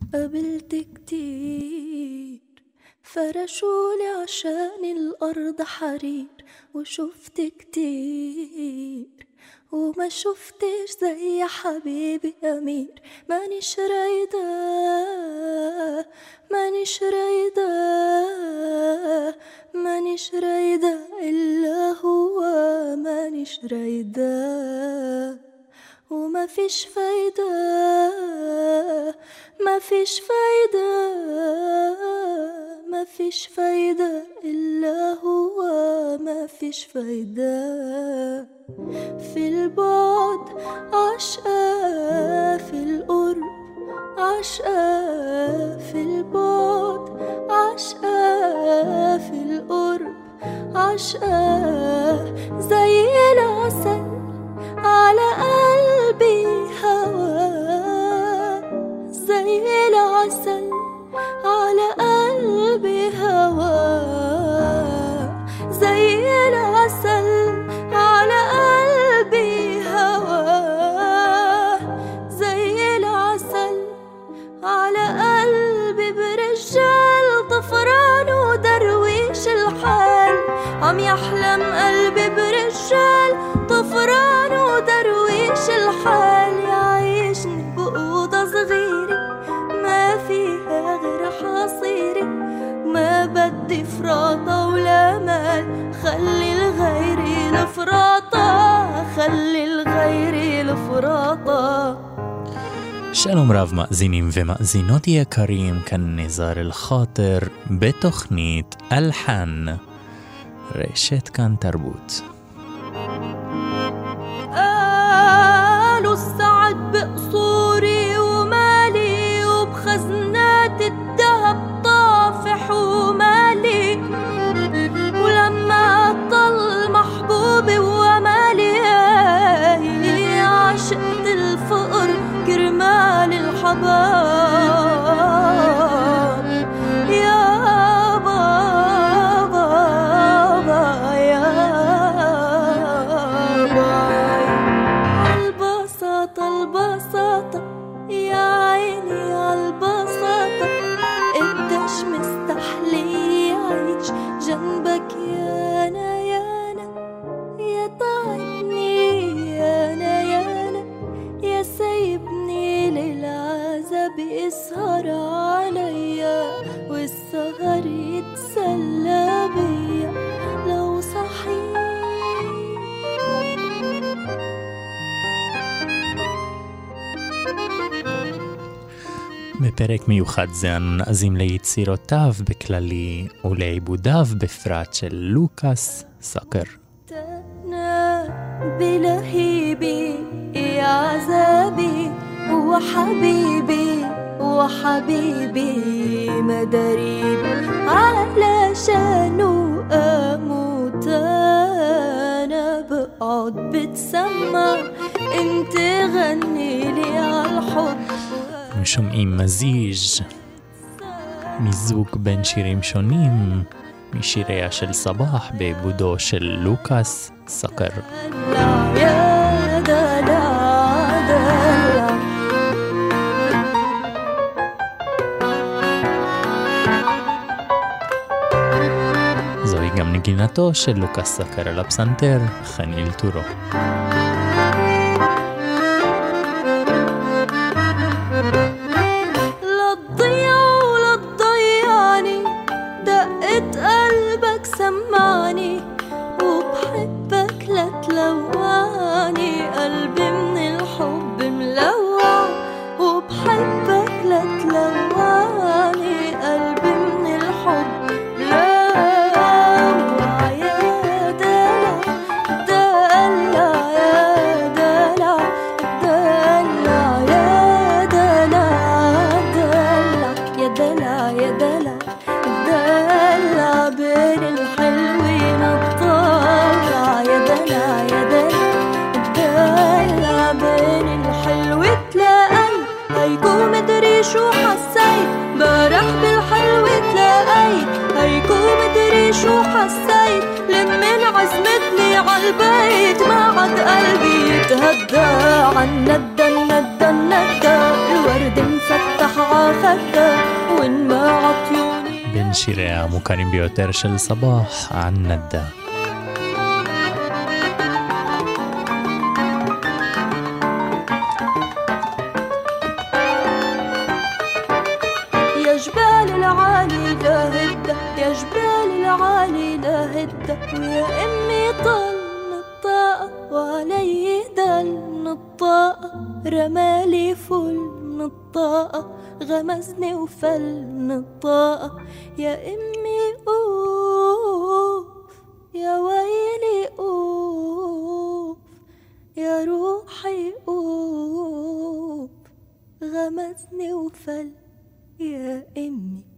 قابلت كتير فرشولي عشان الأرض حرير، وشفت كتير وما شفتش زي حبيبي أمير. مانيش رايدة مانيش رايدة مانيش رايدة إلا هو، مانيش رايدة وما فيش فايدة ما فيش فايدة ما فيش فايدة إلا هو، ما فيش فايدة. في البعد عشقة، في القرب عشقة، في البعد عشقة، في القرب عشقة. زي العسل على قلبي هوا، زي العسل على قلبي هوا، زي العسل على قلبي هوا، زي العسل على قلبي. برجال طفران ودرويش الحال، عم يحلم قلبي برجال طفران ودرويش الحال. يعيشني بأوضة صغيرة ما فيها غير حصيري، ما بدي فراطة ولا مال. خلي الغيري الفراطة، خلي الغيري الفراطة. שלום רב מאזינים ומאזינות יקרים, כאן נזר אל-חאטר בתוכנית אלחן, רשת כאן תרבות. قالوا السعد بقصوري ومالي، وبخزنات الذهب طافح ومالي. ولما طل محبوبي ومالي، عشقت الفقر كرمال الحباب. يا بابا يا بابا، البساطة البساطة يا عيني عالبساطة. قديش مستحلي عيش جنبك يا أنا يا أنا، يا تعبني يا أنا يا أنا، يا سايبني للعذاب يسهر عليا، والسهر يتسلى بيا لو صحيح. בפרק מיוחד זה אנו נאזים ליצירותיו בכללי ולעיבודיו בפרט של לוקאס סאקר. بلهيبي يا عذابي وحبيبي وحبيبي مداريبي، علشانه أموت أنا بقعد بتسمع انت غني لي عالحب. שומעים מיזוג בין שירים שונים משיריה של סבח בעיבודו של לוקאס סאקר. זוהי גם נגינתו של לוקאס סאקר על הפסנתר, חניל טורו. سمعني وبحبك لا تلوعني، قلبي من الحب ملوع وبحبك لا تلوعني، قلبي من الحب ملوع. يا دلع دلع يا دلع دلع يا دلع دلع يا دلع يا دلع دلع بين الحلوين الطالع. يا دلع يا دلع دلع بين الحلو تلاقي، هيكون مدري شو حسيت برح بالحلو تلاقي، هيكون مدري شو حسيت لمن عزمتني عالبيت. ما عاد قلبي يتهدى عن ندى الندى الندى، الورد مفتح عخ ندى وإن ما عطيوني בין שיריה המוכרים ביותר של סבאח, ען נדה. يا جبال العالي لا هدى يا جبال العالي لا هدى ويا أمي طل الطاقة وعلي دل الطاقة رمالي فل الطاقة غمزني وفل الطاقة يا أمي أوف يا ويلي أوف يا روحي أوف غمزني وفل يا أمي.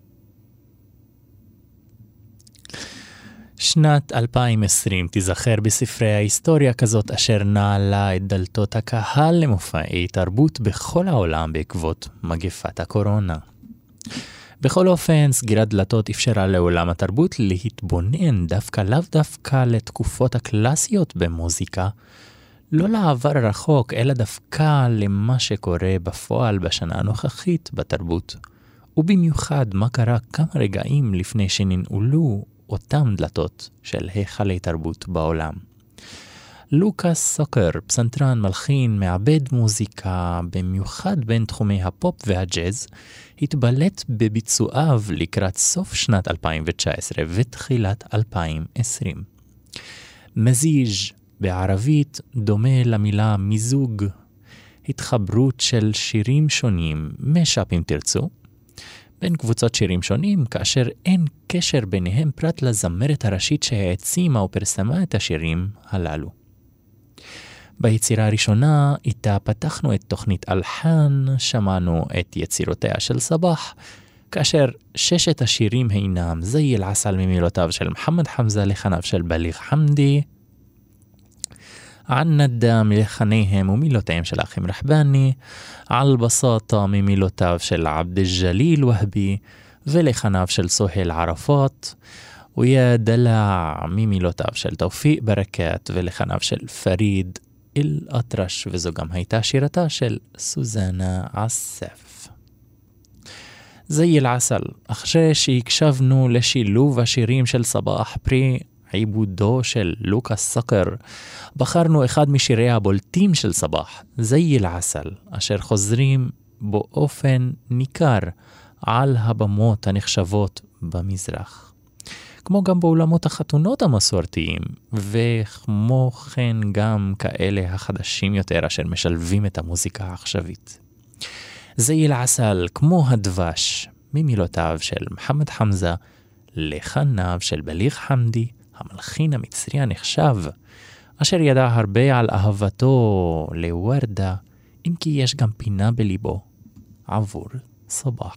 שנת 2020 תיזכר בספרי ההיסטוריה כזאת אשר נעלה את דלתות הקהל למופעי תרבות בכל העולם בעקבות מגפת הקורונה. בכל אופן, סגירת דלתות אפשרה לעולם התרבות להתבונן לאו דווקא לתקופות הקלאסיות במוזיקה, לא לעבר הרחוק, אלא דווקא למה שקורה בפועל בשנה הנוכחית בתרבות, ובמיוחד מה קרה כמה רגעים לפני שננעלו אותם דלתות של היכלי תרבות בעולם. לוקאס סוקר, פסנתרן, מלחין, מעבד מוזיקה, במיוחד בין תחומי הפופ והג'אז, התבלט בביצועיו לקראת סוף שנת 2019 ותחילת 2020. מזיג' בערבית דומה למילה מיזוג, התחברות של שירים שונים, משאפ אם תרצו, בין קבוצות שירים שונים, כאשר אין קשר ביניהם פרט לזמרת הראשית שהעצימה או פרסמה את השירים הללו. ביצירה הראשונה, איתה פתחנו את תוכנית אלחן, שמענו את יצירותיה של סבאח, כאשר 6 השירים הינם זי אל-עסל ממילותיו של מוחמד חמזה לחניו של בליג חמדי, ען נדה מלחניהם ומילותיהם של האחים רחבני, על בסאטה ממילותיו של עבד אל-ג'ליל והבי ולחניו של סוהיל ערפאת, ויה דלע ממילותיו של תאופיק ברקת ולחניו של פריד אל-אטרש, וזו גם הייתה שירתה של סוזנה עסף. זי אל-עסל, אחרי שהקשבנו לשילוב השירים של סבאח פרי עיבודו של לוקאס סוקר, בחרנו אחד משירי הבולטים של סבאח, זי אל-עסל, אשר חוזרים באופן ניכר על הבמות הנחשבות במזרח. כמו גם באולמות החתונות המסורתיים, וכמו כן גם כאלה החדשים יותר אשר משלבים את המוזיקה העכשווית. זי אל-עסל, כמו הדבש, ממילותיו של מוחמד חמזה, לחניו של בליג חמדי, המלחין המצרי הנחשב, אשר ידע הרבה על אהבתו לוורדה, אם כי יש גם פינה בליבו עבור סבאח.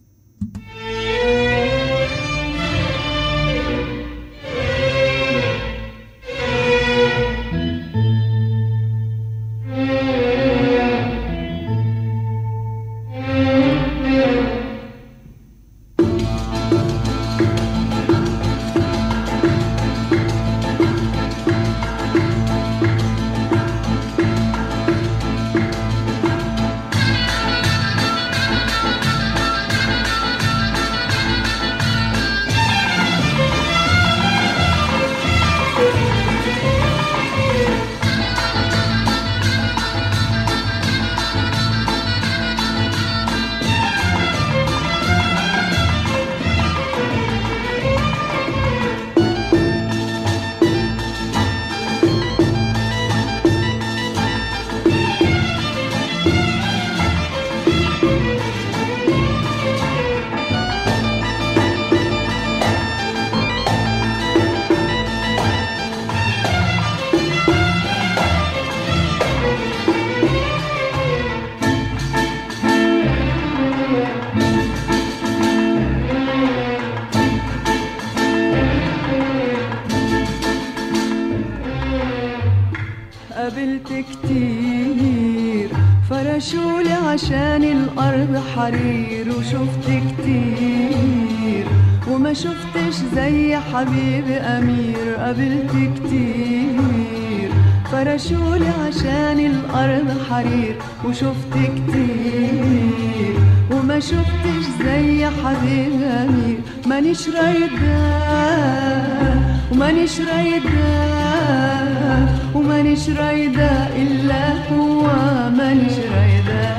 فرشولي عشان الأرض حرير وشفت كتير وما شفتش زي حبيبي أمير قابلت كتير فرشولي عشان الأرض حرير وشفت كتير وما وما شفتش زي حبيب أمير. مانيش رايدة ومانيش رايدة ومانيش رايدة إلا هو. مانيش رايدة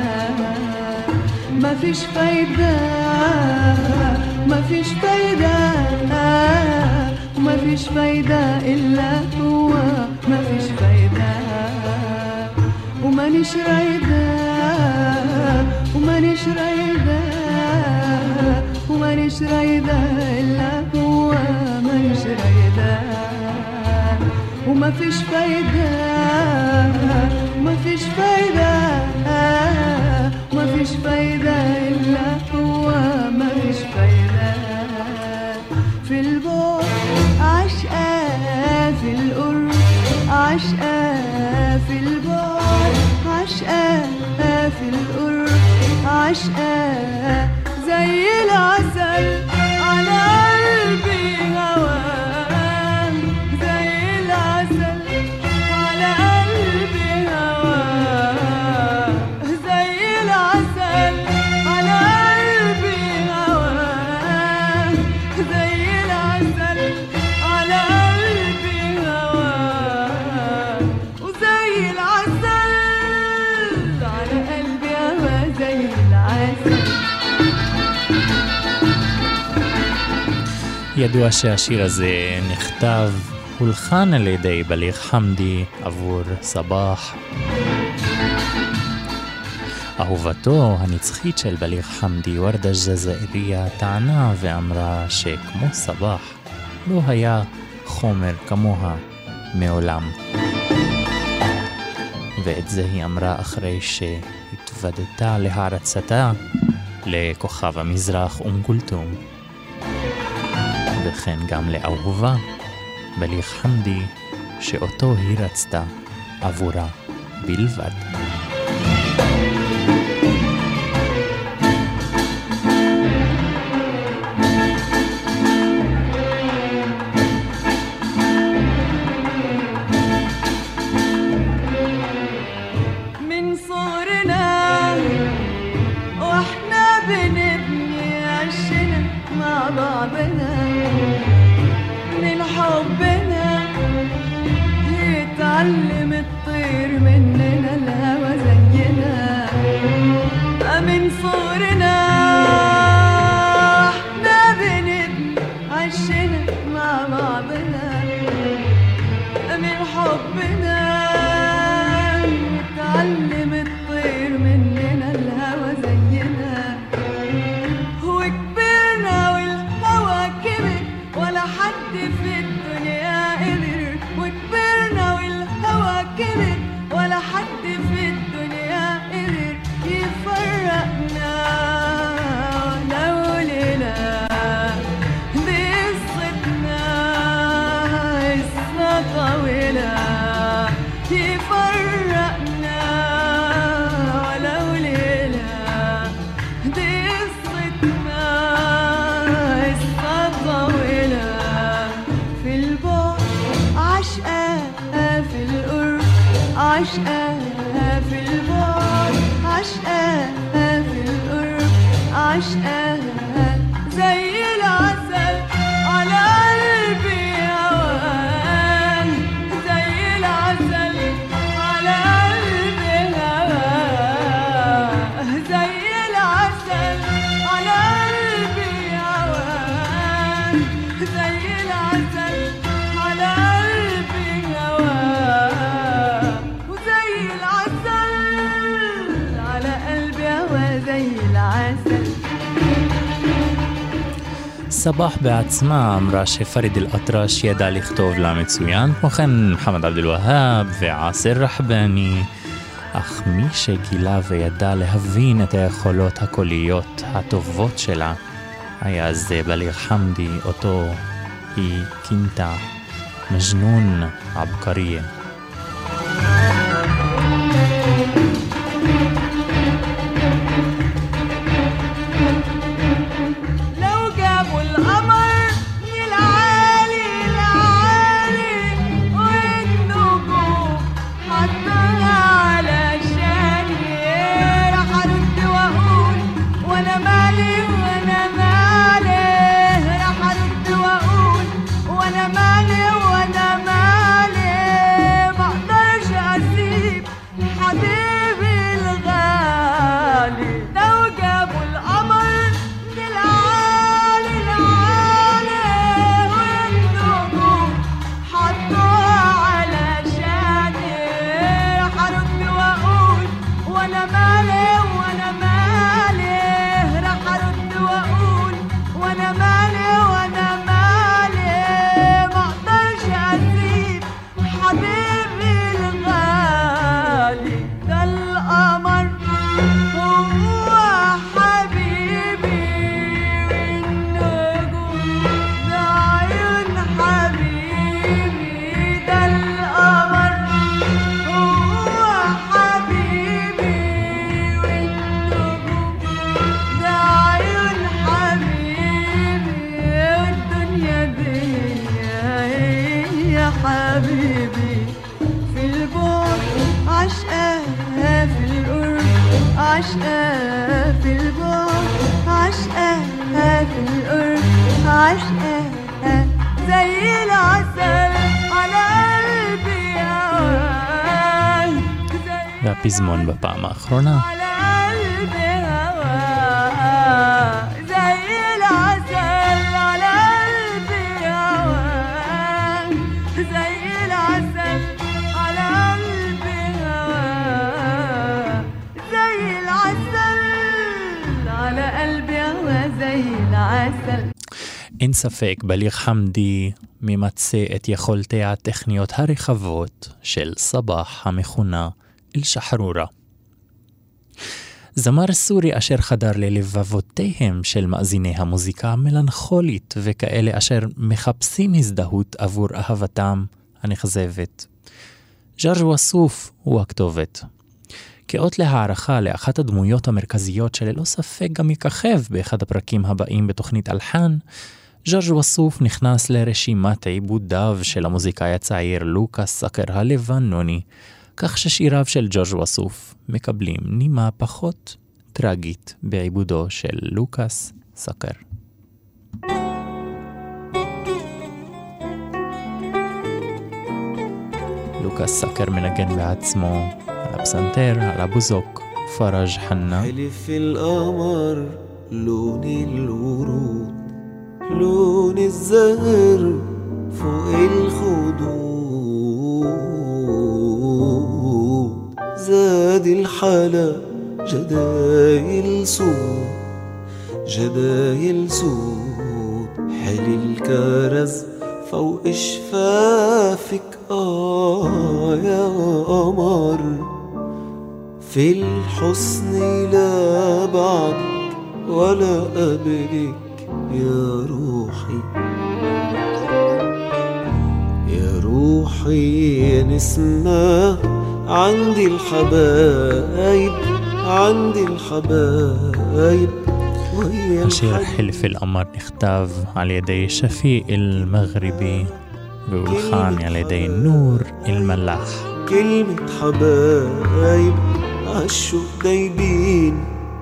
مفيش فايدة مفيش فايدة ومفيش فايدة إلا هو. مفيش فايدة ومانيش رايدة ومانيش رايدة ومانيش رايدة إلا هو. مانيش رايدة ومفيش فايدة ومفيش فايدة ومفيش فايدة إلا هو. مفيش فايدة في البعد عشقة، في القرب عشقة، في البعد عشقة، في القرب عشقة، زي العسل على قلبي هواه، زي العسل على قلبي هواه، زي العسل على قلبي هواه، زي العسل على قلبي هواه، وزي العسل على قلبي هواه، زي العسل. ידוע שהשיר הזה נכתב, הולחן על ידי בליג חמדי עבור סבח. אהובתו הנצחית של בליג חמדי, ורדה ג'זאיריה, טענה ואמרה שכמו סבח לא היה חומר כמוה מעולם. ואת זה היא אמרה אחרי שהתוודתה להערצתה לכוכב המזרח כולתום. וכן גם לאהובה בליג חמדי, שאותו היא רצתה עבורה בלבד. من صغرنا واحنا بنبني عشنا مع بعضنا، من حبنا يتعلم الطير مننا الهوى زينا. من صغرنا احنا بنبني عشنا مع بعضنا، من حبنا يتعلم الطير مننا الهوى زينا. وكبرنا والهوى كبر ولا حد في الدنيا قدر، وكبرنا والهوى كبر ولا حد في الدنيا قدر يفرقنا. لو ليلة دي قصتنا قصة طويلة يفرقنا، ولو ليلة دي قصتنا قصة طويلة. في البعد عشقة، في القرب عشقة، في البعد عشقة، في القرب عشقة، زي العسل على قلبي هواه، زي العسل على قلبي هواه، زي العسل على قلبي هواه، زي العسل على قلبي هواه، وزي العسل على قلبي هواه، زي العسل. סבח בעצמה אמרה שפריד אל-אטרש ידע לכתוב לה מצוין, כמו כן מוחמד עבד אל-והאב ועאסר רחבני, אך מי שגילה וידע להבין את היכולות הקוליות הטובות שלה היה זה בליג חמדי, אותו היא כינתה מג'נון עבקריה. وانا ما عشقة في البعد، عشقة في القرب، عشقة زي العسل على قلبي هواك، והפזמון בפעם האחרונה. على قلبي هواك زي العسل على قلبي هواك، زي العسل على قلبي هواك، زي العسل على قلبي هواك، زي العسل. אין ספק, בליר חמדי ממצא את יכולתיה הטכניות הרחבות של סבח המכונה אל-שחרורה. זמר סורי אשר חדר ללבבותיהם של מאזיני המוזיקה המלנכולית וכאלה אשר מחפשים הזדהות עבור אהבתם הנכזבת. ג'ורג' וסוף הוא הכתובת. כאות להערכה לאחת הדמויות המרכזיות שללא ספק גם יככב באחד הפרקים הבאים בתוכנית אלחן, ג'ורג' וסוף נכנס לרשימת עיבודיו של המוזיקאי הצעיר לוקאס סאקר הלבנוני, כך ששיריו של ג'ורג' וסוף מקבלים נימה פחות טרגית בעיבודו של לוקאס סאקר. לוקאס סאקר מנגן בעצמו על הפסנתר, על הבוזוק, פרג' חנה. حلف القمر لون الورود لون الزهر فوق الخدود زاد الحلا جدايل سود جدايل سود حلي الكرز فوق شفافك يا قمر في الحسن لا بعدك ولا قبلك يا روحي يا روحي يا نسمة عندي الحبايب عندي الحبايب. השיר חלף אל-קמר נכתב על ידי שפיע אל-מגריבי והולחן על ידי נור אל-מלאח. كلمة حبايب عالشوق دايبين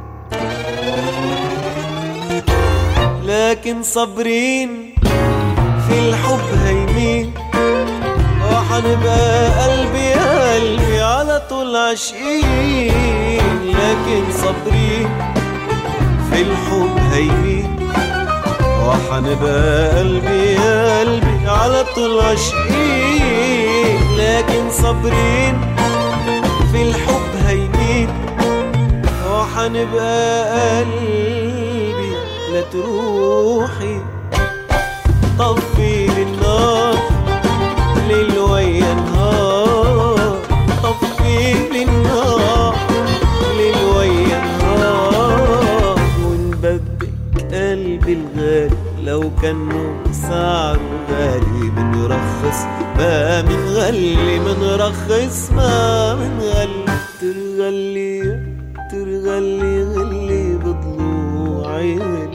لكن صابرين في الحب هيمين وحنبقى قلبي قلبي على طول عاشقين لكن صابرين في الحب هيمين وحنبقى قلبي قلبي على طول عاشقين لكن صابرين في الحب هيمين وحنبقى قلبي لا تروحي طفي للنار ليل ويا نهار طفي للنار ليل ويا نهار ونبدك قلبي الغالي لو كان سعره غالي بنرخص ما منغلي منرخص ما منغلي ترغلي ترغلي غلي بضلوعي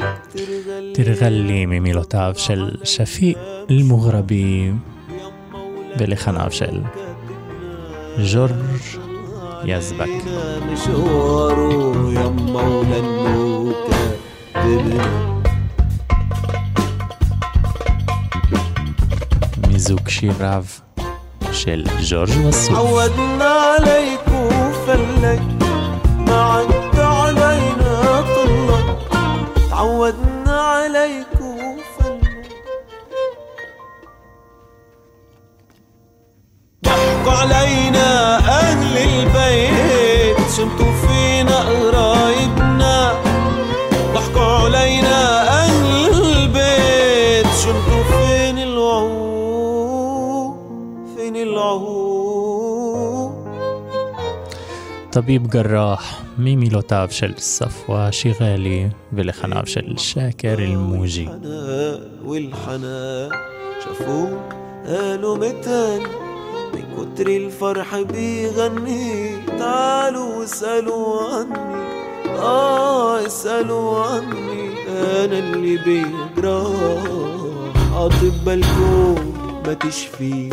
תרגלי ממילותיו של שפיע אל-מגריבי ולחניו של ג'ורג' יזבק. مشواره يا مولا النوكة מיזוג שיריו של ג'ורג' וסוף. عودنا عليك وفلك ما عدت علينا طلك تعودنا عليك وفلك ضحكوا علينا أهل البيت شمتوا فينا قرايبنا ضحكوا علينا أهل البيت شمتوا فين الوعود فين العهود. طبيب جراح ממילותיו של ספווה שיראלי ולחניו של שאקר אל-מוג'י. والحنان شافوه قالوا متاني من كتر الفرح بيغني تعالوا اسألوا عني اسألوا عني انا اللي بيجراح اطباء الكون ما تشفيه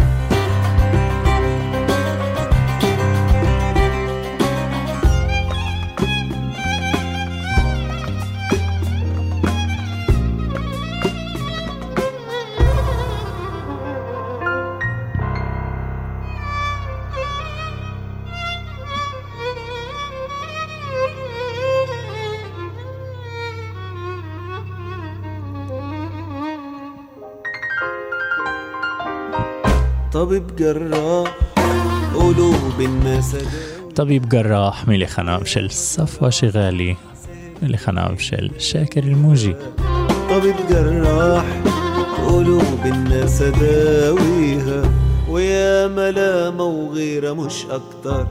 طبيب جراح قلوب الناس طبيب جراح ملحناو של صفوة شغالي ملحناو של شاكر الموجي. طبيب جراح قلوب الناس داويها ويا ملامة وغيرة مش أكتر.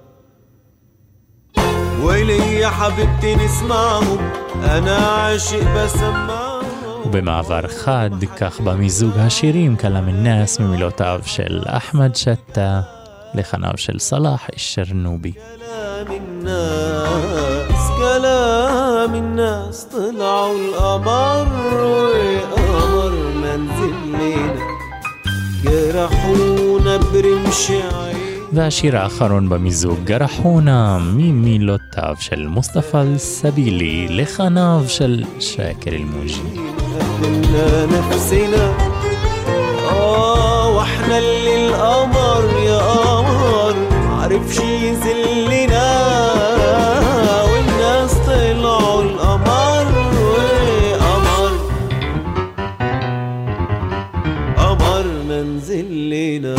ويلي يا حبيبتي نسمعهم أنا عاشق بسمعهم. ובמעבר חד, כך במיזוג השירים כלם الناس ממילותיו של אחמד שטה לחניו של סלאח الشرنوبي. كلام الناس طلعوا القمر وقمر منزلنا جرحونا برمش عين. והשיר האחרון במיזוג גרחונה ממילותיו של מוסטפא אל-סבילי לחניו של שאקר אל-מוג'י. قدمنا نفسنا واحنا اللي القمر يا قمر معرفش يذلنا والناس طلعوا القمر وقمر قمر منزلنا.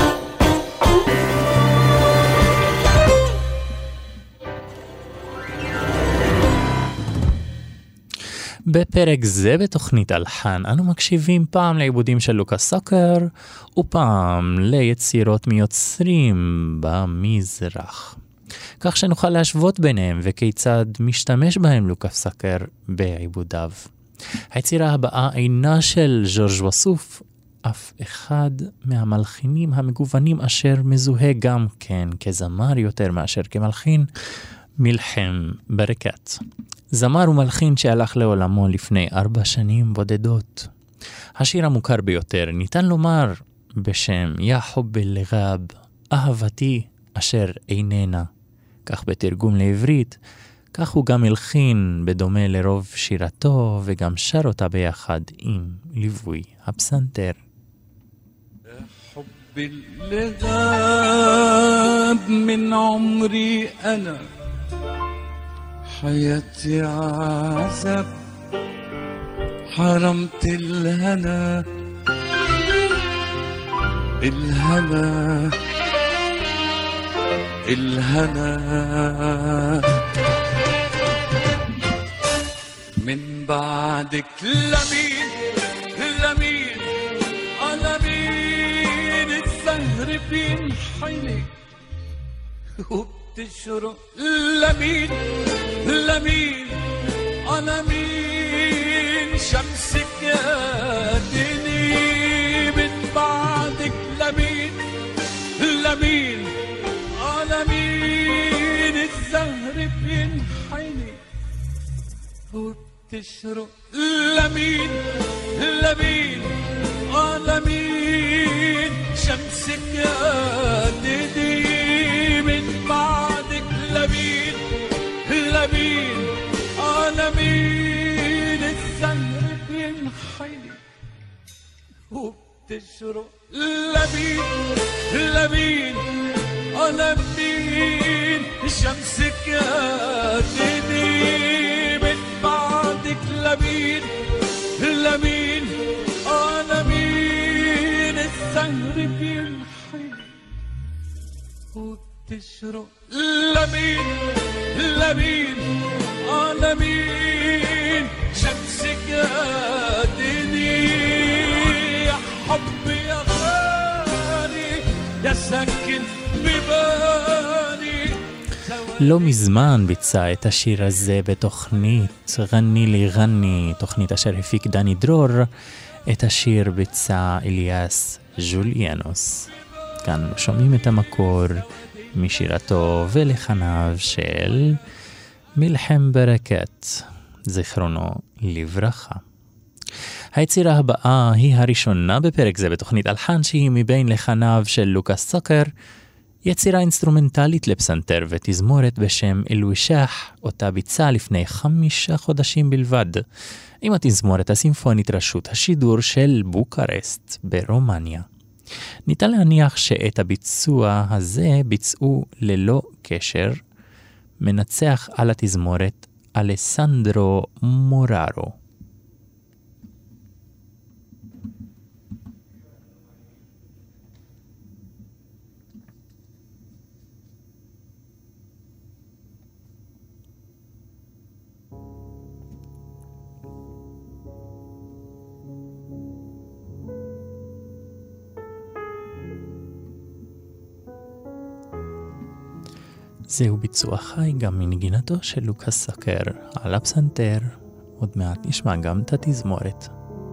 בפרק זה בתוכנית אלחן אנו מקשיבים פעם לעיבודים של לוקאס סוקר ופעם ליצירות מיוצרים במזרח, כך שנוכל להשוות ביניהם וכיצד משתמש בהם לוקאס סוקר בעיבודיו. היצירה הבאה אינה של ז'ורג' וסוף, אף אחד מהמלחינים המגוונים אשר מזוהה גם כן כזמר יותר מאשר כמלחין, מלחם ברקת. זמר ומלחין שהלך לעולמו לפני 4 שנים בודדות. השיר המוכר ביותר ניתן לומר בשם יא חוב אל-גאב, אהבתי אשר איננה. כך בתרגום לעברית, כך הוא גם הלחין בדומה לרוב שירתו וגם שר אותה ביחד עם ליווי הפסנתר. حب الغاب من عمري أنا حياتي عذاب حرمت الهنا الهنا الهنا من بعدك لمين لمين أنا مين الزهر بينحني وبتشرق لمين لمين أنا مين شمسك يا دني من بعدك لمين لمين أنا مين الزهر بينحني وبتشرق لمين لمين أنا مين شمسك يا دني من بعدك لمين لمين أنا مين الزهر بينحني وبتشرق لمين لمين أنا مين شمسك يا دني من بعدك لمين لمين أنا مين الزهر بينحني وبتشرق لمين لمين أنا مين شمسك يا دني يا حب يا غالي يا سكن ببالي. לא מזמן ביצע את השיר הזה בתוכנית גני לי גני, תוכנית אשר הפיק דני דרור. את השיר ביצע אליאס ג'וליאנוס. כאן שומעים את המקור משירתו ולחניו של מלחם ברקת, זיכרונו לברכה. היצירה הבאה היא הראשונה בפרק זה בתוכנית אלחן, שהיא מבין לחניו של לוקאס סוקר, יצירה אינסטרומנטלית לפסנתר ותזמורת בשם אל-ושאח, אותה ביצע לפני 5 חודשים בלבד, עם התזמורת הסימפונית רשות השידור של בוקרשט ברומניה. ניתן להניח שאת הביצוע הזה ביצעו ללא קשר מנצח על התזמורת אלסנדרו מוררו. זהו ביצוע חי גם מנגינתו של לוקאס סקר על הפסנתר. עוד מעט נשמע גם את התזמורת.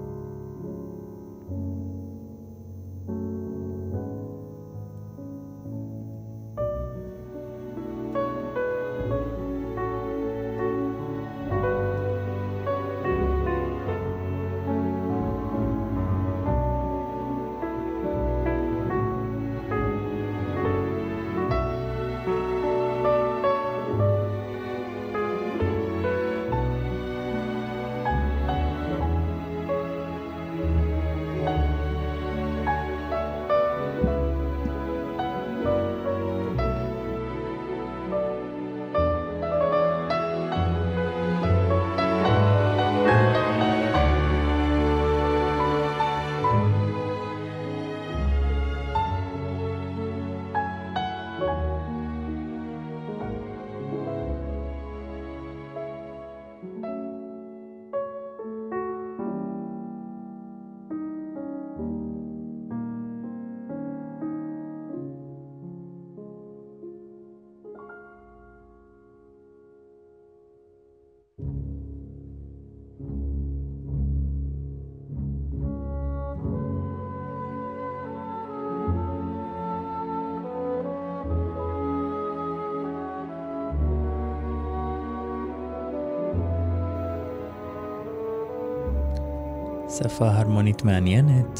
שפה הרמונית מעניינת.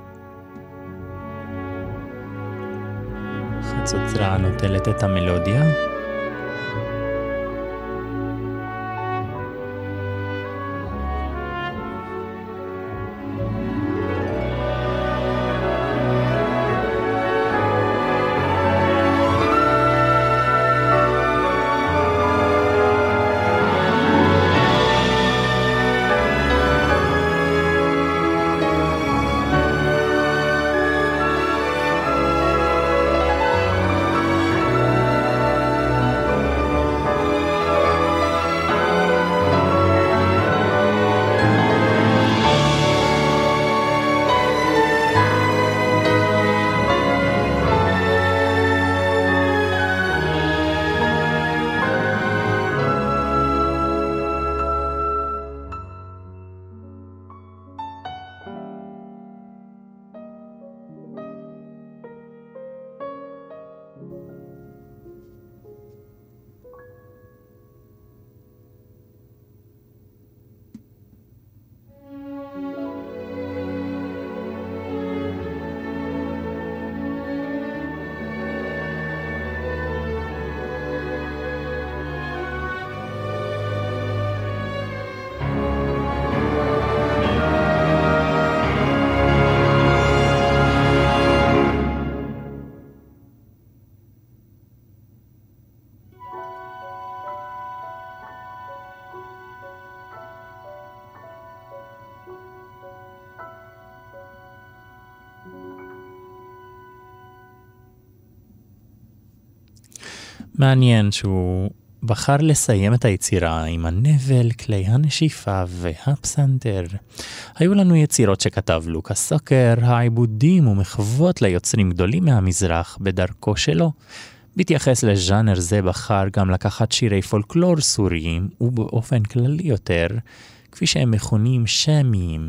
חצוצרה נוטלת את המלודיה. מעניין שהוא בחר לסיים את היצירה עם הנבל, כלי הנשיפה והפסנתר. היו לנו יצירות שכתב לוקאס סקר, העיבודים ומחוות ליוצרים גדולים מהמזרח בדרכו שלו. בהתייחס לז'אנר זה בחר גם לקחת שירי פולקלור סוריים, ובאופן כללי יותר, כפי שהם מכונים שמיים.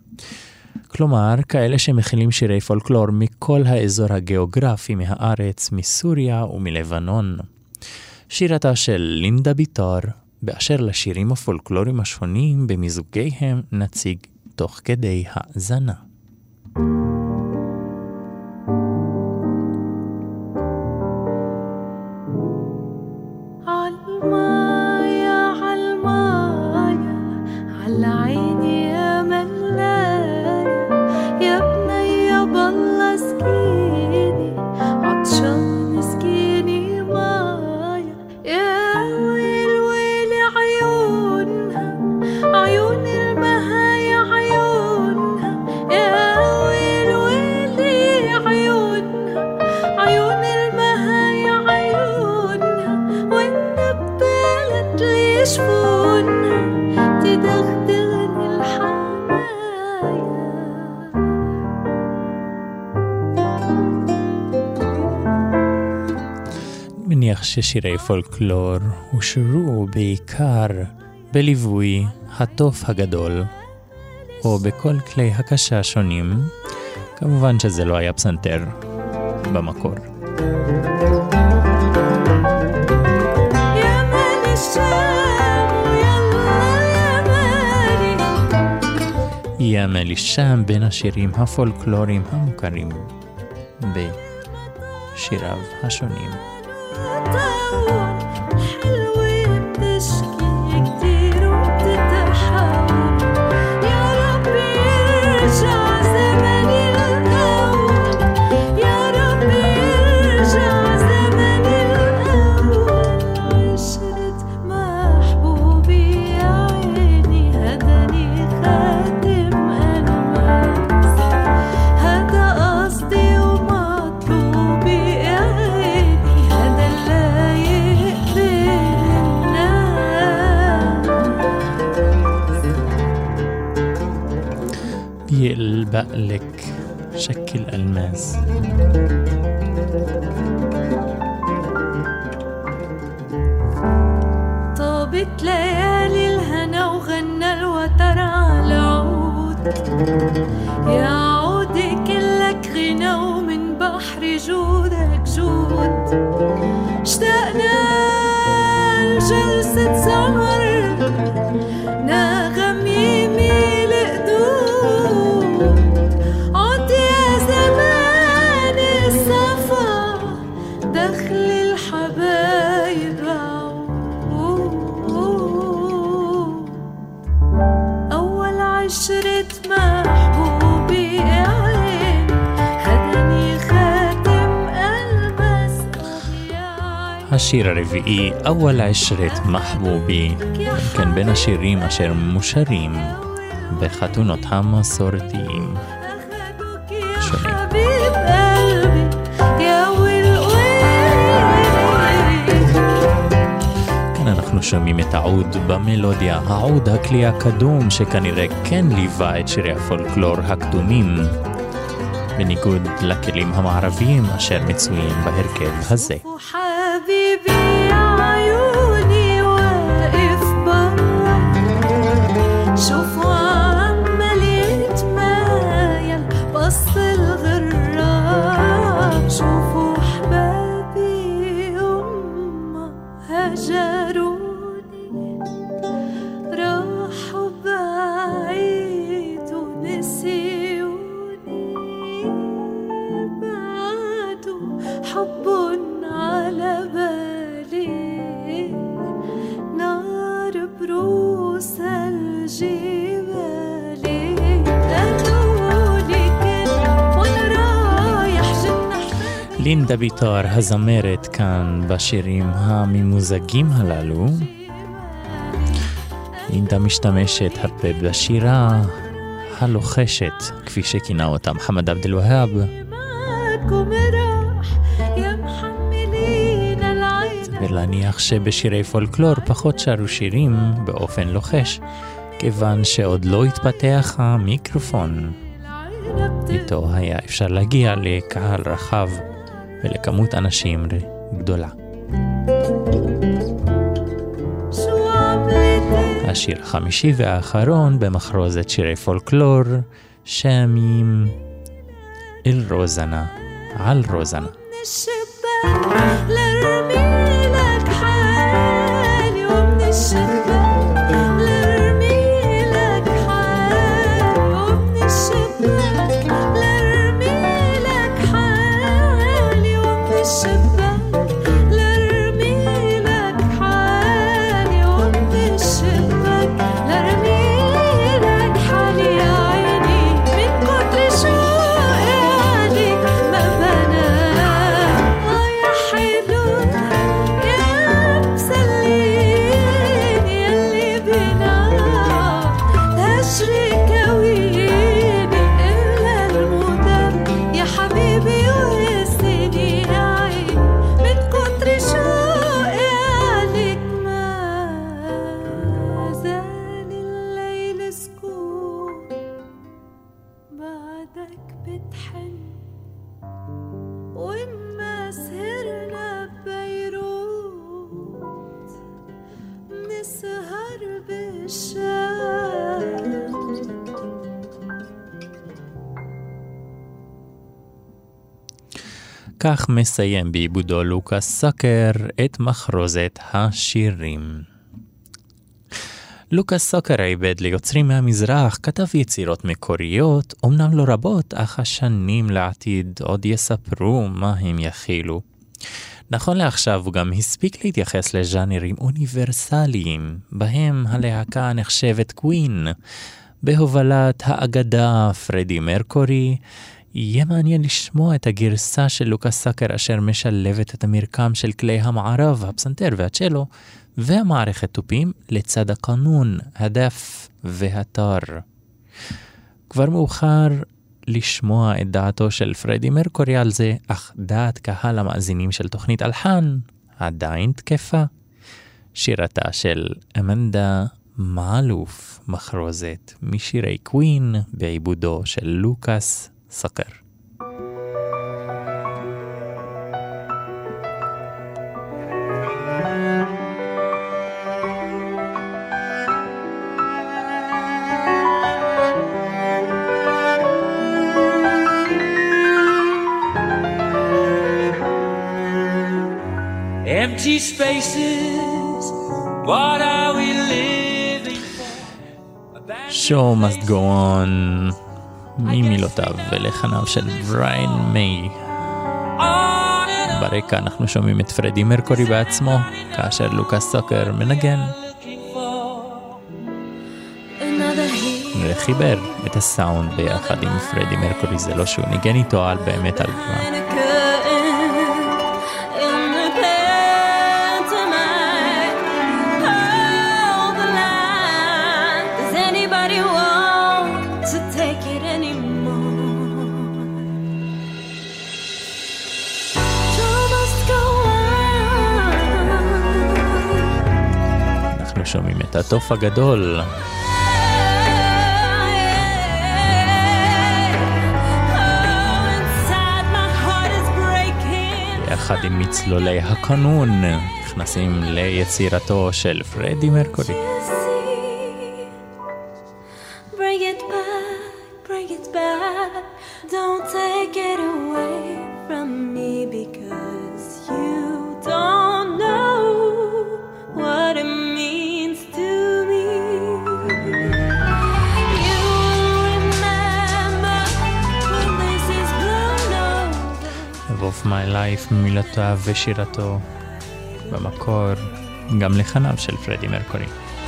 כלומר, כאלה שמכילים שירי פולקלור מכל האזור הגיאוגרפי מהארץ, מסוריה ומלבנון. שירתה של לינדה ביטר, באשר לשירים הפולקלוריים השונים במיזוגיהם נציג תוך כדי האזנה. تدغدغني الحال להניח ששירי פולקלור הושרו בעיקר בליווי התוף הגדול, או בכל כלי הקשה שונים. כמובן שזה לא היה פסנתר במקור. יאמל שם בין השירים הפולקלוריים המוכרים בשיריו השונים. يلبق لك شكل ألماس. طابت ليالي الهنا وغنى الوتر على عود، يا عودي كلك غنى ومن بحر جودك جود. اشتقنا لجلسة سمر نغم يميل قدود، عد يا زمان الصفا دخل الحبايب عود. أول عشرة محبوبي عين هداني خاتم ألمس השיר הרביעי, أول عشرة محبوبي, كان בין השירים אשר מושרים בחתונות המסורתיים שונים. כאן אנחנו שומעים את העוד במלודיה, העוד הכלי הקדום שכנראה כן ליווה את שירי הפולקלור הקדומים, בניגוד לכלים המערביים אשר מצויים בהרכב הזה. حبيبي عيوني واقف برا، شوفوا عمال يتمايل بص الغراب، شوفوا حبابي هما هجروني راحوا بعيد ونسيوني، بعدوا حب على بالي نار بروس الجبال. قالولي كل وانا رايح جنة לינדה ביטר הזמרת כאן בשירים הממוזגים הללו. לינדה משתמשת הרבה בשירה הלוחשת, כפי שכינה אותה מחמד עבד אל-והאב. ולהניח שבשירי פולקלור פחות שרו שירים באופן לוחש, כיוון שעוד לא התפתח המיקרופון. איתו היה אפשר להגיע לקהל רחב ולכמות אנשים גדולה. השיר החמישי והאחרון במחרוזת שירי פולקלור, שמים אל רוזנה, על רוזנה. וכך מסיים בעיבודו לוקאס סאקר את מחרוזת השירים. לוקאס סאקר עיבד ליוצרים מהמזרח, כתב יצירות מקוריות, אמנם לא רבות, אך השנים לעתיד עוד יספרו מה הם יכילו. נכון לעכשיו הוא גם הספיק להתייחס לז'אנרים אוניברסליים, בהם הלהקה נחשבת קווין, בהובלת האגדה פרדי מרקורי. יהיה מעניין לשמוע את הגרסה של לוקאס סאקר אשר משלבת את המרקם של כלי המערב, הפסנתר והצ'לו, והמערכת תופים לצד הקנון, הדף והטר. כבר מאוחר לשמוע את דעתו של פרדי מרקורי על זה, אך דעת קהל המאזינים של תוכנית אלחן עדיין תקפה. שירתה של אמנדה מעלוף, מחרוזת משירי קווין בעיבודו של לוקאס סאקר. Empty spaces, what are we living for? Show must go on, ממילותיו ולחניו של בריין מיי. ברקע אנחנו שומעים את פרדי מרקורי בעצמו, כאשר לוקאס סאקר מנגן וחיבר את הסאונד ביחד עם פרדי מרקורי. זה לא שהוא ניגן איתו על באמת על כבר. שומעים את התוף הגדול יחד עם מצלולי הקנון נכנסים ליצירתו של פרדי מרקורי. Bring it back, bring it back. Don't take it away from me because you don't know what it means to me. You remember when this is blown over. Of my life מילותיו ושירתו במקור גם לחניו של פרדי מרקורי.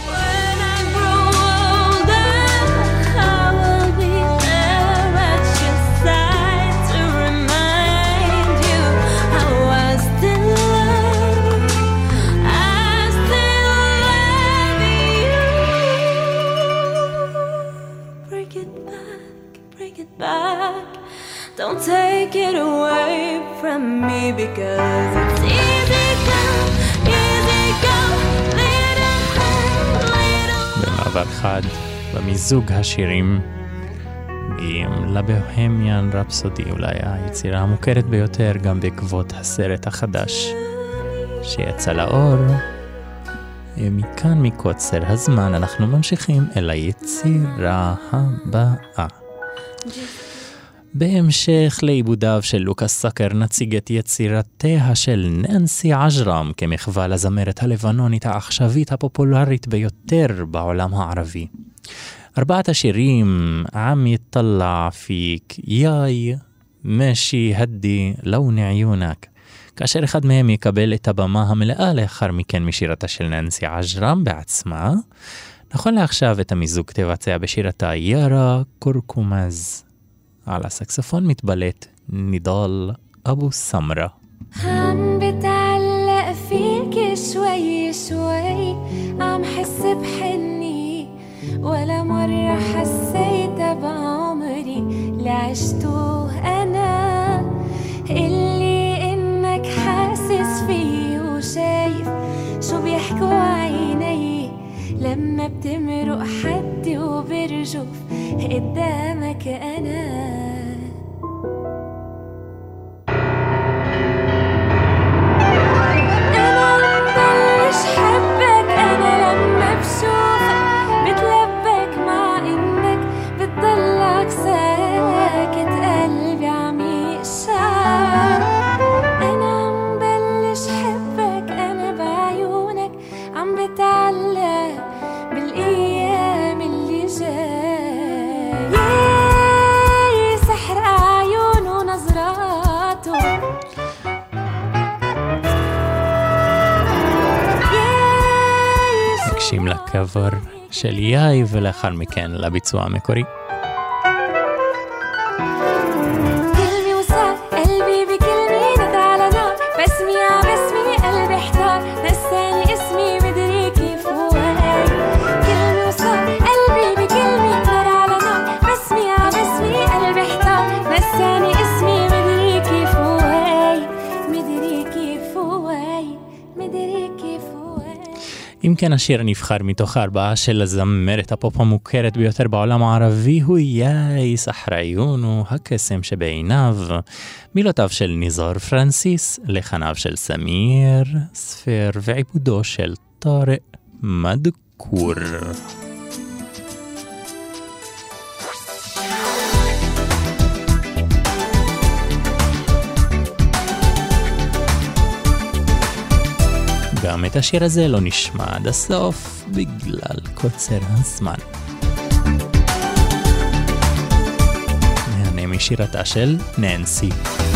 Don't take it away from me because it's easy come, little hurt, little. במעבר חד, במיזוג השירים, מגיעים לבוהמיאן רפסודי, אולי היצירה המוכרת ביותר גם בעקבות הסרט החדש שיצא לאור. מכאן מקוצר הזמן אנחנו ממשיכים אל היצירה הבאה. בהמשך לעיבודיו של לוקאס סאקר נציג את יצירתיה של ננסי עג'רם כמחווה לזמרת הלבנונית העכשווית הפופולרית ביותר בעולם הערבי. 4 השירים עם יטלע פיק, יאי, משי הדי, לון עיונק, כאשר אחד מהם יקבל את הבמה המלאה לאחר מכן משירתה של ננסי עג'רם בעצמה. נכון לעכשיו את המיזוג תבצע בשירתה יארה קורקומז. على السكسفون متبلت نضال أبو سمرة. عم بتعلق فيك شوي شوي عم حس بحني ولا مرة حسيت بعمري اللي عشته أنا اللي إنك حاسس فيه وشايف شو بيحكوا عيني لما بتمرق حدي وبرجف قدامك أنا. קאבר של יאי, ולאחר מכן לביצוע המקורי. אם כן, השיר הנבחר מתוך 4 של הזמרת הפופ המוכרת ביותר בעולם הערבי הוא יאי סחריון, הקסם שבעיניו, מילותיו של ניזור פרנסיס, לחניו של סמיר ספר ועיבודו של טארק מדקור. גם את השיר הזה לא נשמע עד הסוף בגלל קוצר הזמן. נהנה משירתה של ננסי.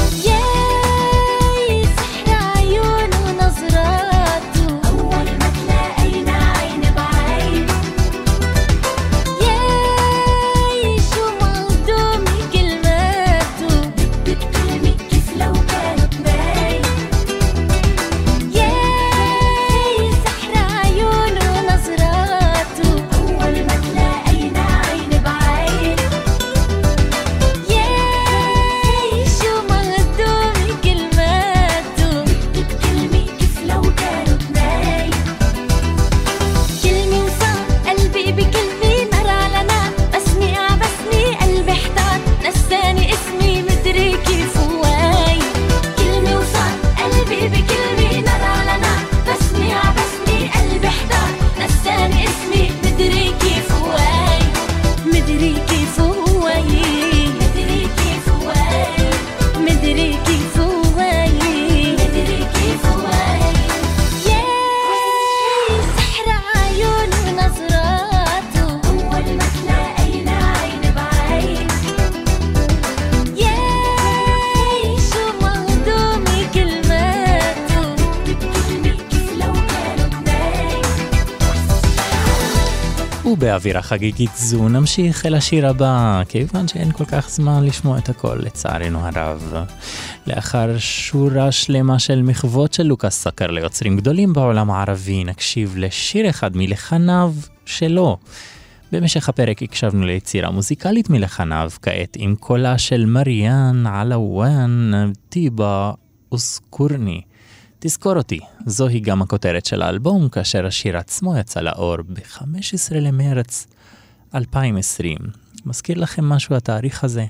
באווירה חגיגית זו נמשיך אל השיר הבא, כיוון שאין כל כך זמן לשמוע את הכל לצערנו הרב. לאחר שורה שלמה של מחוות של לוקאס סקר ליוצרים גדולים בעולם הערבי, נקשיב לשיר אחד מלחניו שלו. במשך הפרק הקשבנו ליצירה מוזיקלית מלחניו, כעת עם קולה של מריאן עלוואן טיבה אוסקורני. תזכור אותי, זוהי גם הכותרת של האלבום, כאשר השיר עצמו יצא לאור ב-15 למרץ 2020. מזכיר לכם משהו התאריך הזה?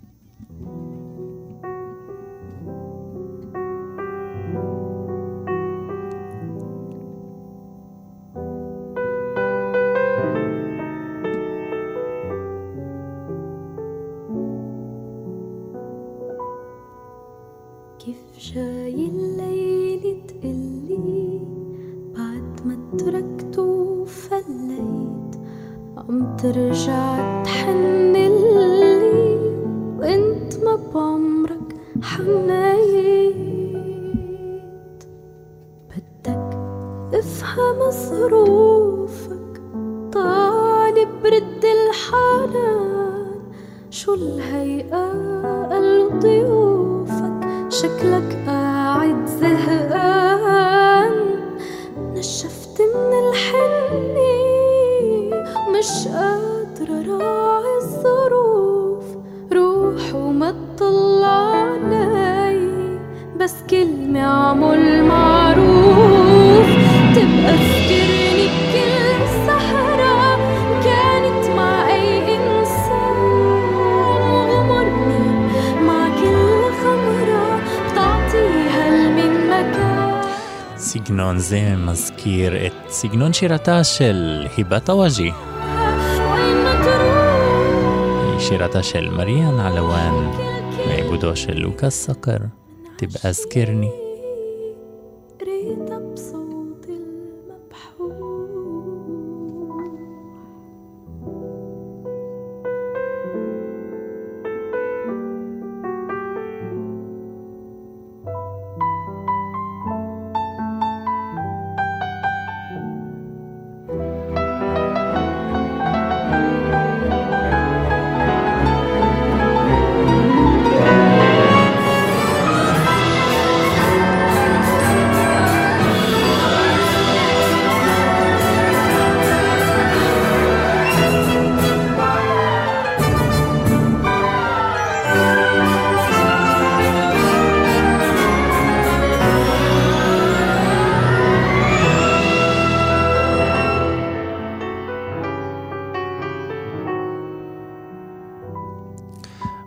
كيف جاي الليل تقلي بعد ما تركت وفليت عم ترجع تحنلي وانت ما بعمرك حنيت بدك افهم ظروفك طالب رد الحنان شو الهيئة الضيوفك شكلك قاعد زهقان نشفت من الحني مش قادرة راعي الظروف روح وما تطلع علي بس كلمة عمل معروف تبقى تذكرني بكل سهرة كانت مع أي إنسان وغمرني مع كل خمرة סגנון זה מזכיר את סגנון שירתה של היבת אוואג'י. היא שירתה של מריאן עלוואן מעיבודו של לוקאס סקר, תבقى זכרני.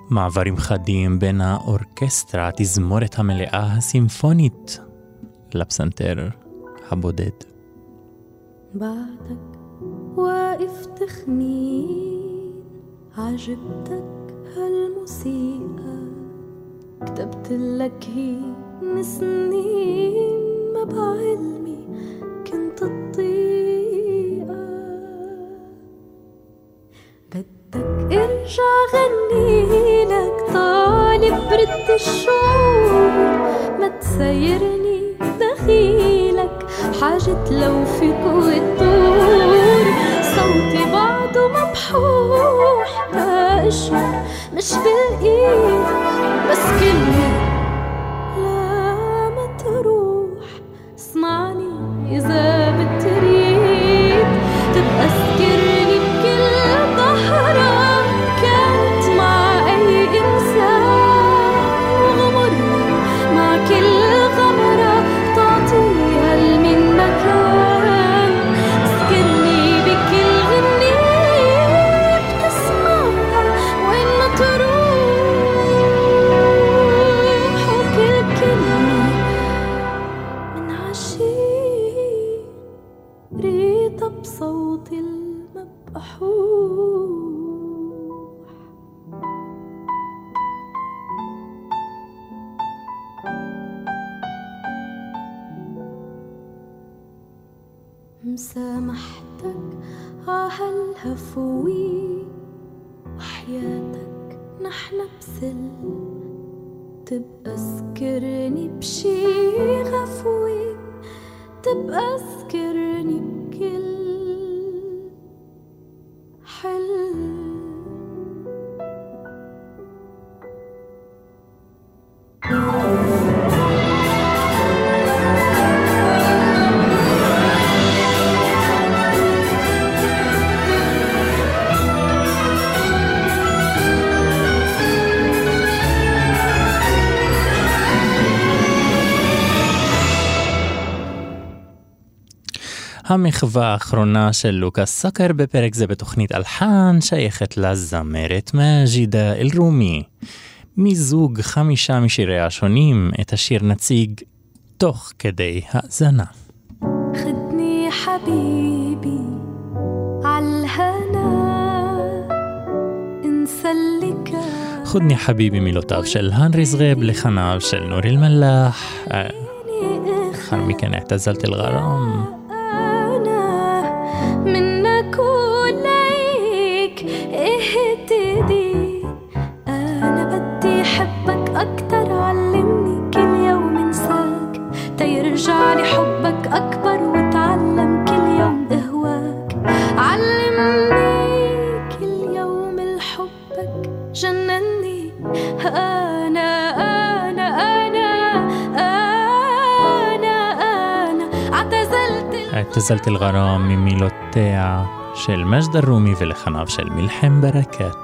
מעברים חדים בין האורקסטרה, התזמורת המלאה הסימפונית, לפסנתר הבודד. بعدك واقف تخنين عجبتك هالموسيقى كتبتلك هي من سنين ما بعلمي كنت الطيقة بدك ارجع غنيلك طالب برد الشعور ما تسيرني دخيلك حاجة لو في قوة طور صوتي بعده مبحوح بأشعر مش بالإيد بس كلمة لا ما تروح اسمعني إذا بتريد تبقى سكرني بكل ظهرة كانت مع أي إنسان وغمرني مع كل غمرة تعطيها من مكان سكرني بكل غنية بتسمعها وين ما تروح وكل كلمة من عشيق ريتها بصوت المبحوح مسامحتك عهالهفوي وحياتك نحن بسلم تبقى سكرني بشي غفوي تبقى سكرني بكل حلم המחווה האחרונה של לוקאס סקר בפרק זה בתוכנית אלחן שייכת לזמרת מאג'ידה אל-רומי. מזוג 5 משיריה השונים את השיר נציג תוך כדי האזנה. خدني حبيبي عالهنا انسى اللي كان חודני חביבי מילותיו של הנרי זרב לחניו של נור אל-מלאח. לאחר מכן اعتزلت الغرام. منك وليك اهتدي انا بدي احبك اكتر علمني كل يوم انساك تيرجع لي حبك اكبر وتعلم كل يوم اهواك علمني كل يوم الحبك جنني انا اعتزلت الغرام ממילותיה של מג'ד אל-רומי ולחניו של מלחם ברקת.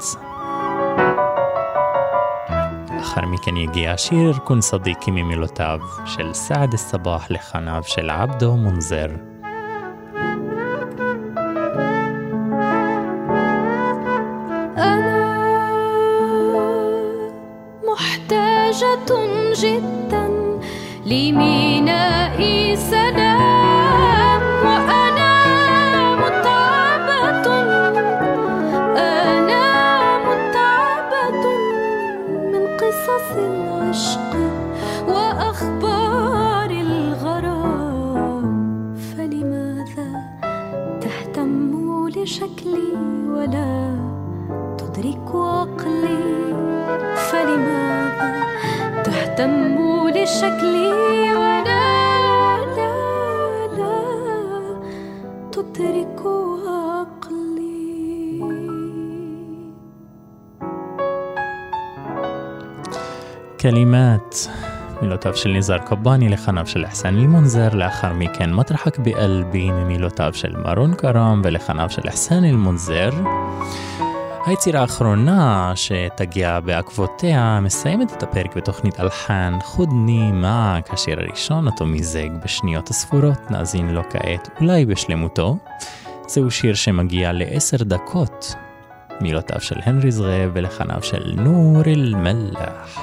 לאחר מכן יגיע השיר כון סדיקי ממילותיו של סעד א-סבאח לחניו של עבדו מונזר. أنا محتاجة جدا لميناء سلام وأنا متعبة من قصص العشق وأخبار الغرام فلماذا تهتم لشكلي ولا تدرك عقلي فلماذا تهتم لشكلي ولا لا تدرك عقلي. كلمات מילותיו של ניזאר קבאני לחניו של אחסן אל-מונזר. לאחר מכן מטרחק בקלבי ממילותיו של מרון קרם ולחניו של אחסן אל-מונזר. היצירה האחרונה שתגיע בעקבותיה מסיימת את הפרק בתוכנית אלחן חודני מעק, השיר הראשון אותו מיזג בשניות הספורות, נאזין לו כעת אולי בשלמותו. זהו שיר שמגיע ל10 דקות מילותיו של הנרי זרעב ולחניו של נור אל-מלח.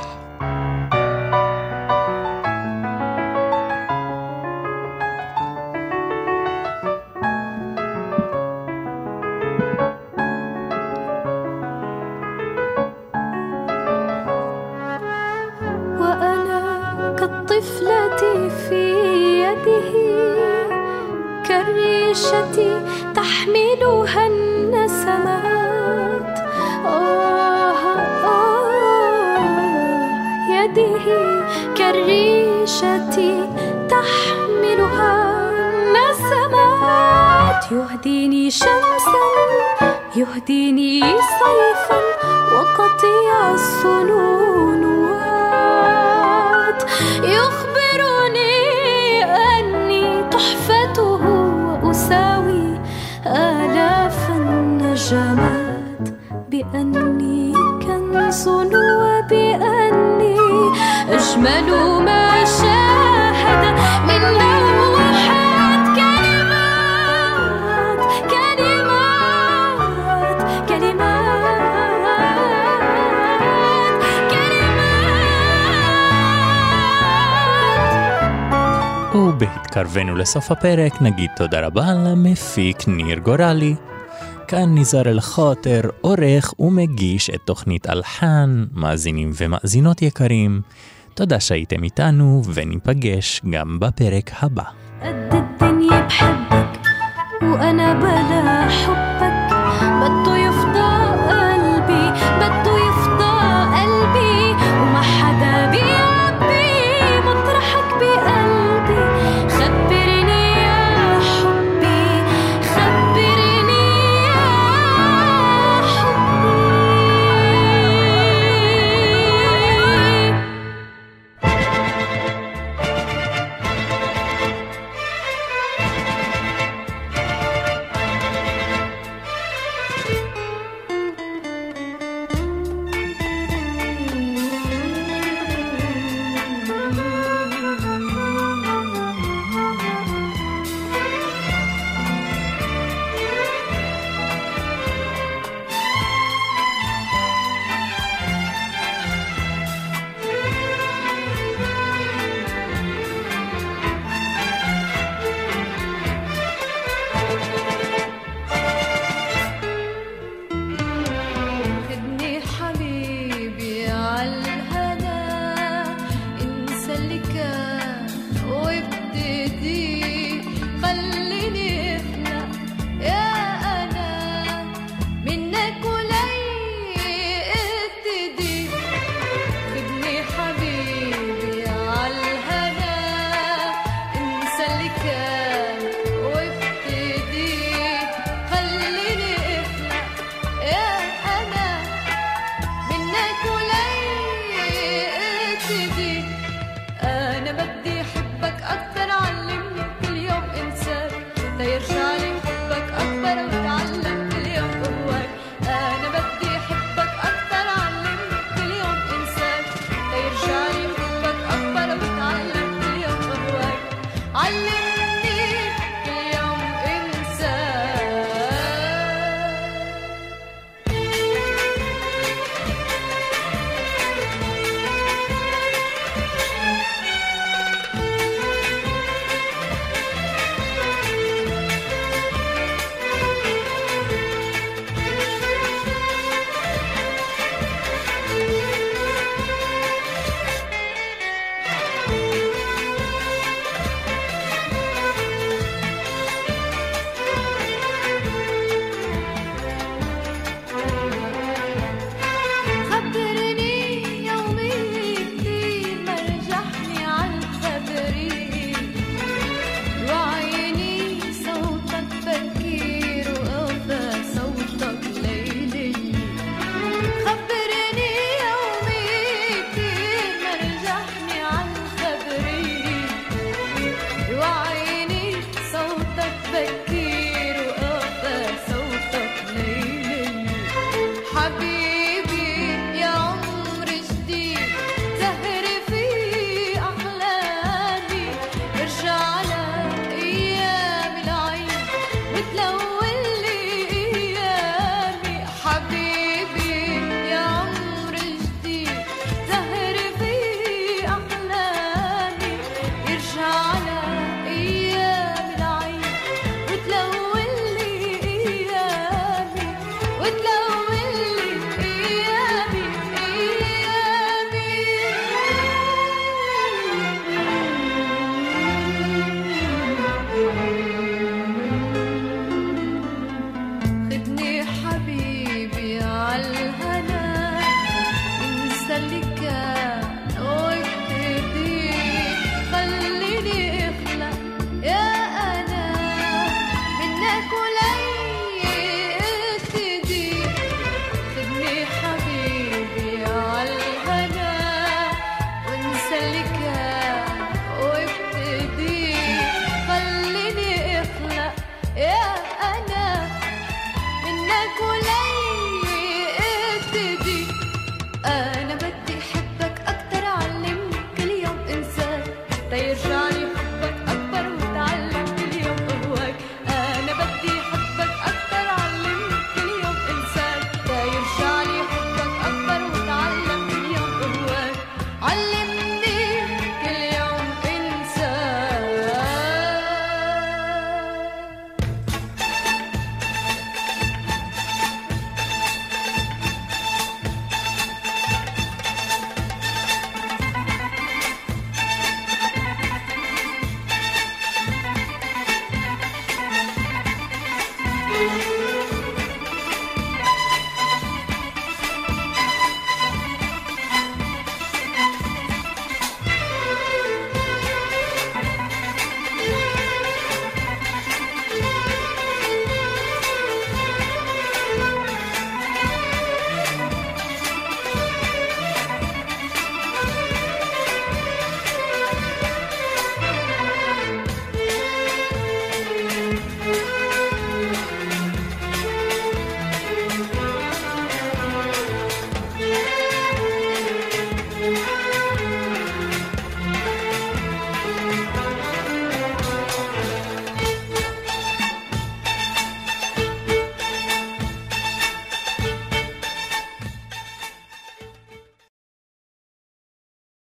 تحملها النسمات يده كالريشة تحملها النسمات يهديني شمسا يهديني صيفا وقطيع الصنونات يخبرني أني تحفته وأساوي آلاف النجمات بأني كنز وبأني أجمل ما شاهد من لوحات كلمات كلمات كلمات كلمات. ובהתקרבנו לסוף הפרק נגיד תודה רבה למפיק ניר גורלי. כאן ניזר אל-חוטר, עורך ומגיש את תוכנית אלחן. מאזינים ומאזינות יקרים, תודה שהייתם איתנו וניפגש גם בפרק הבא. قد الدنيا بحبك وأنا بلا حبك بده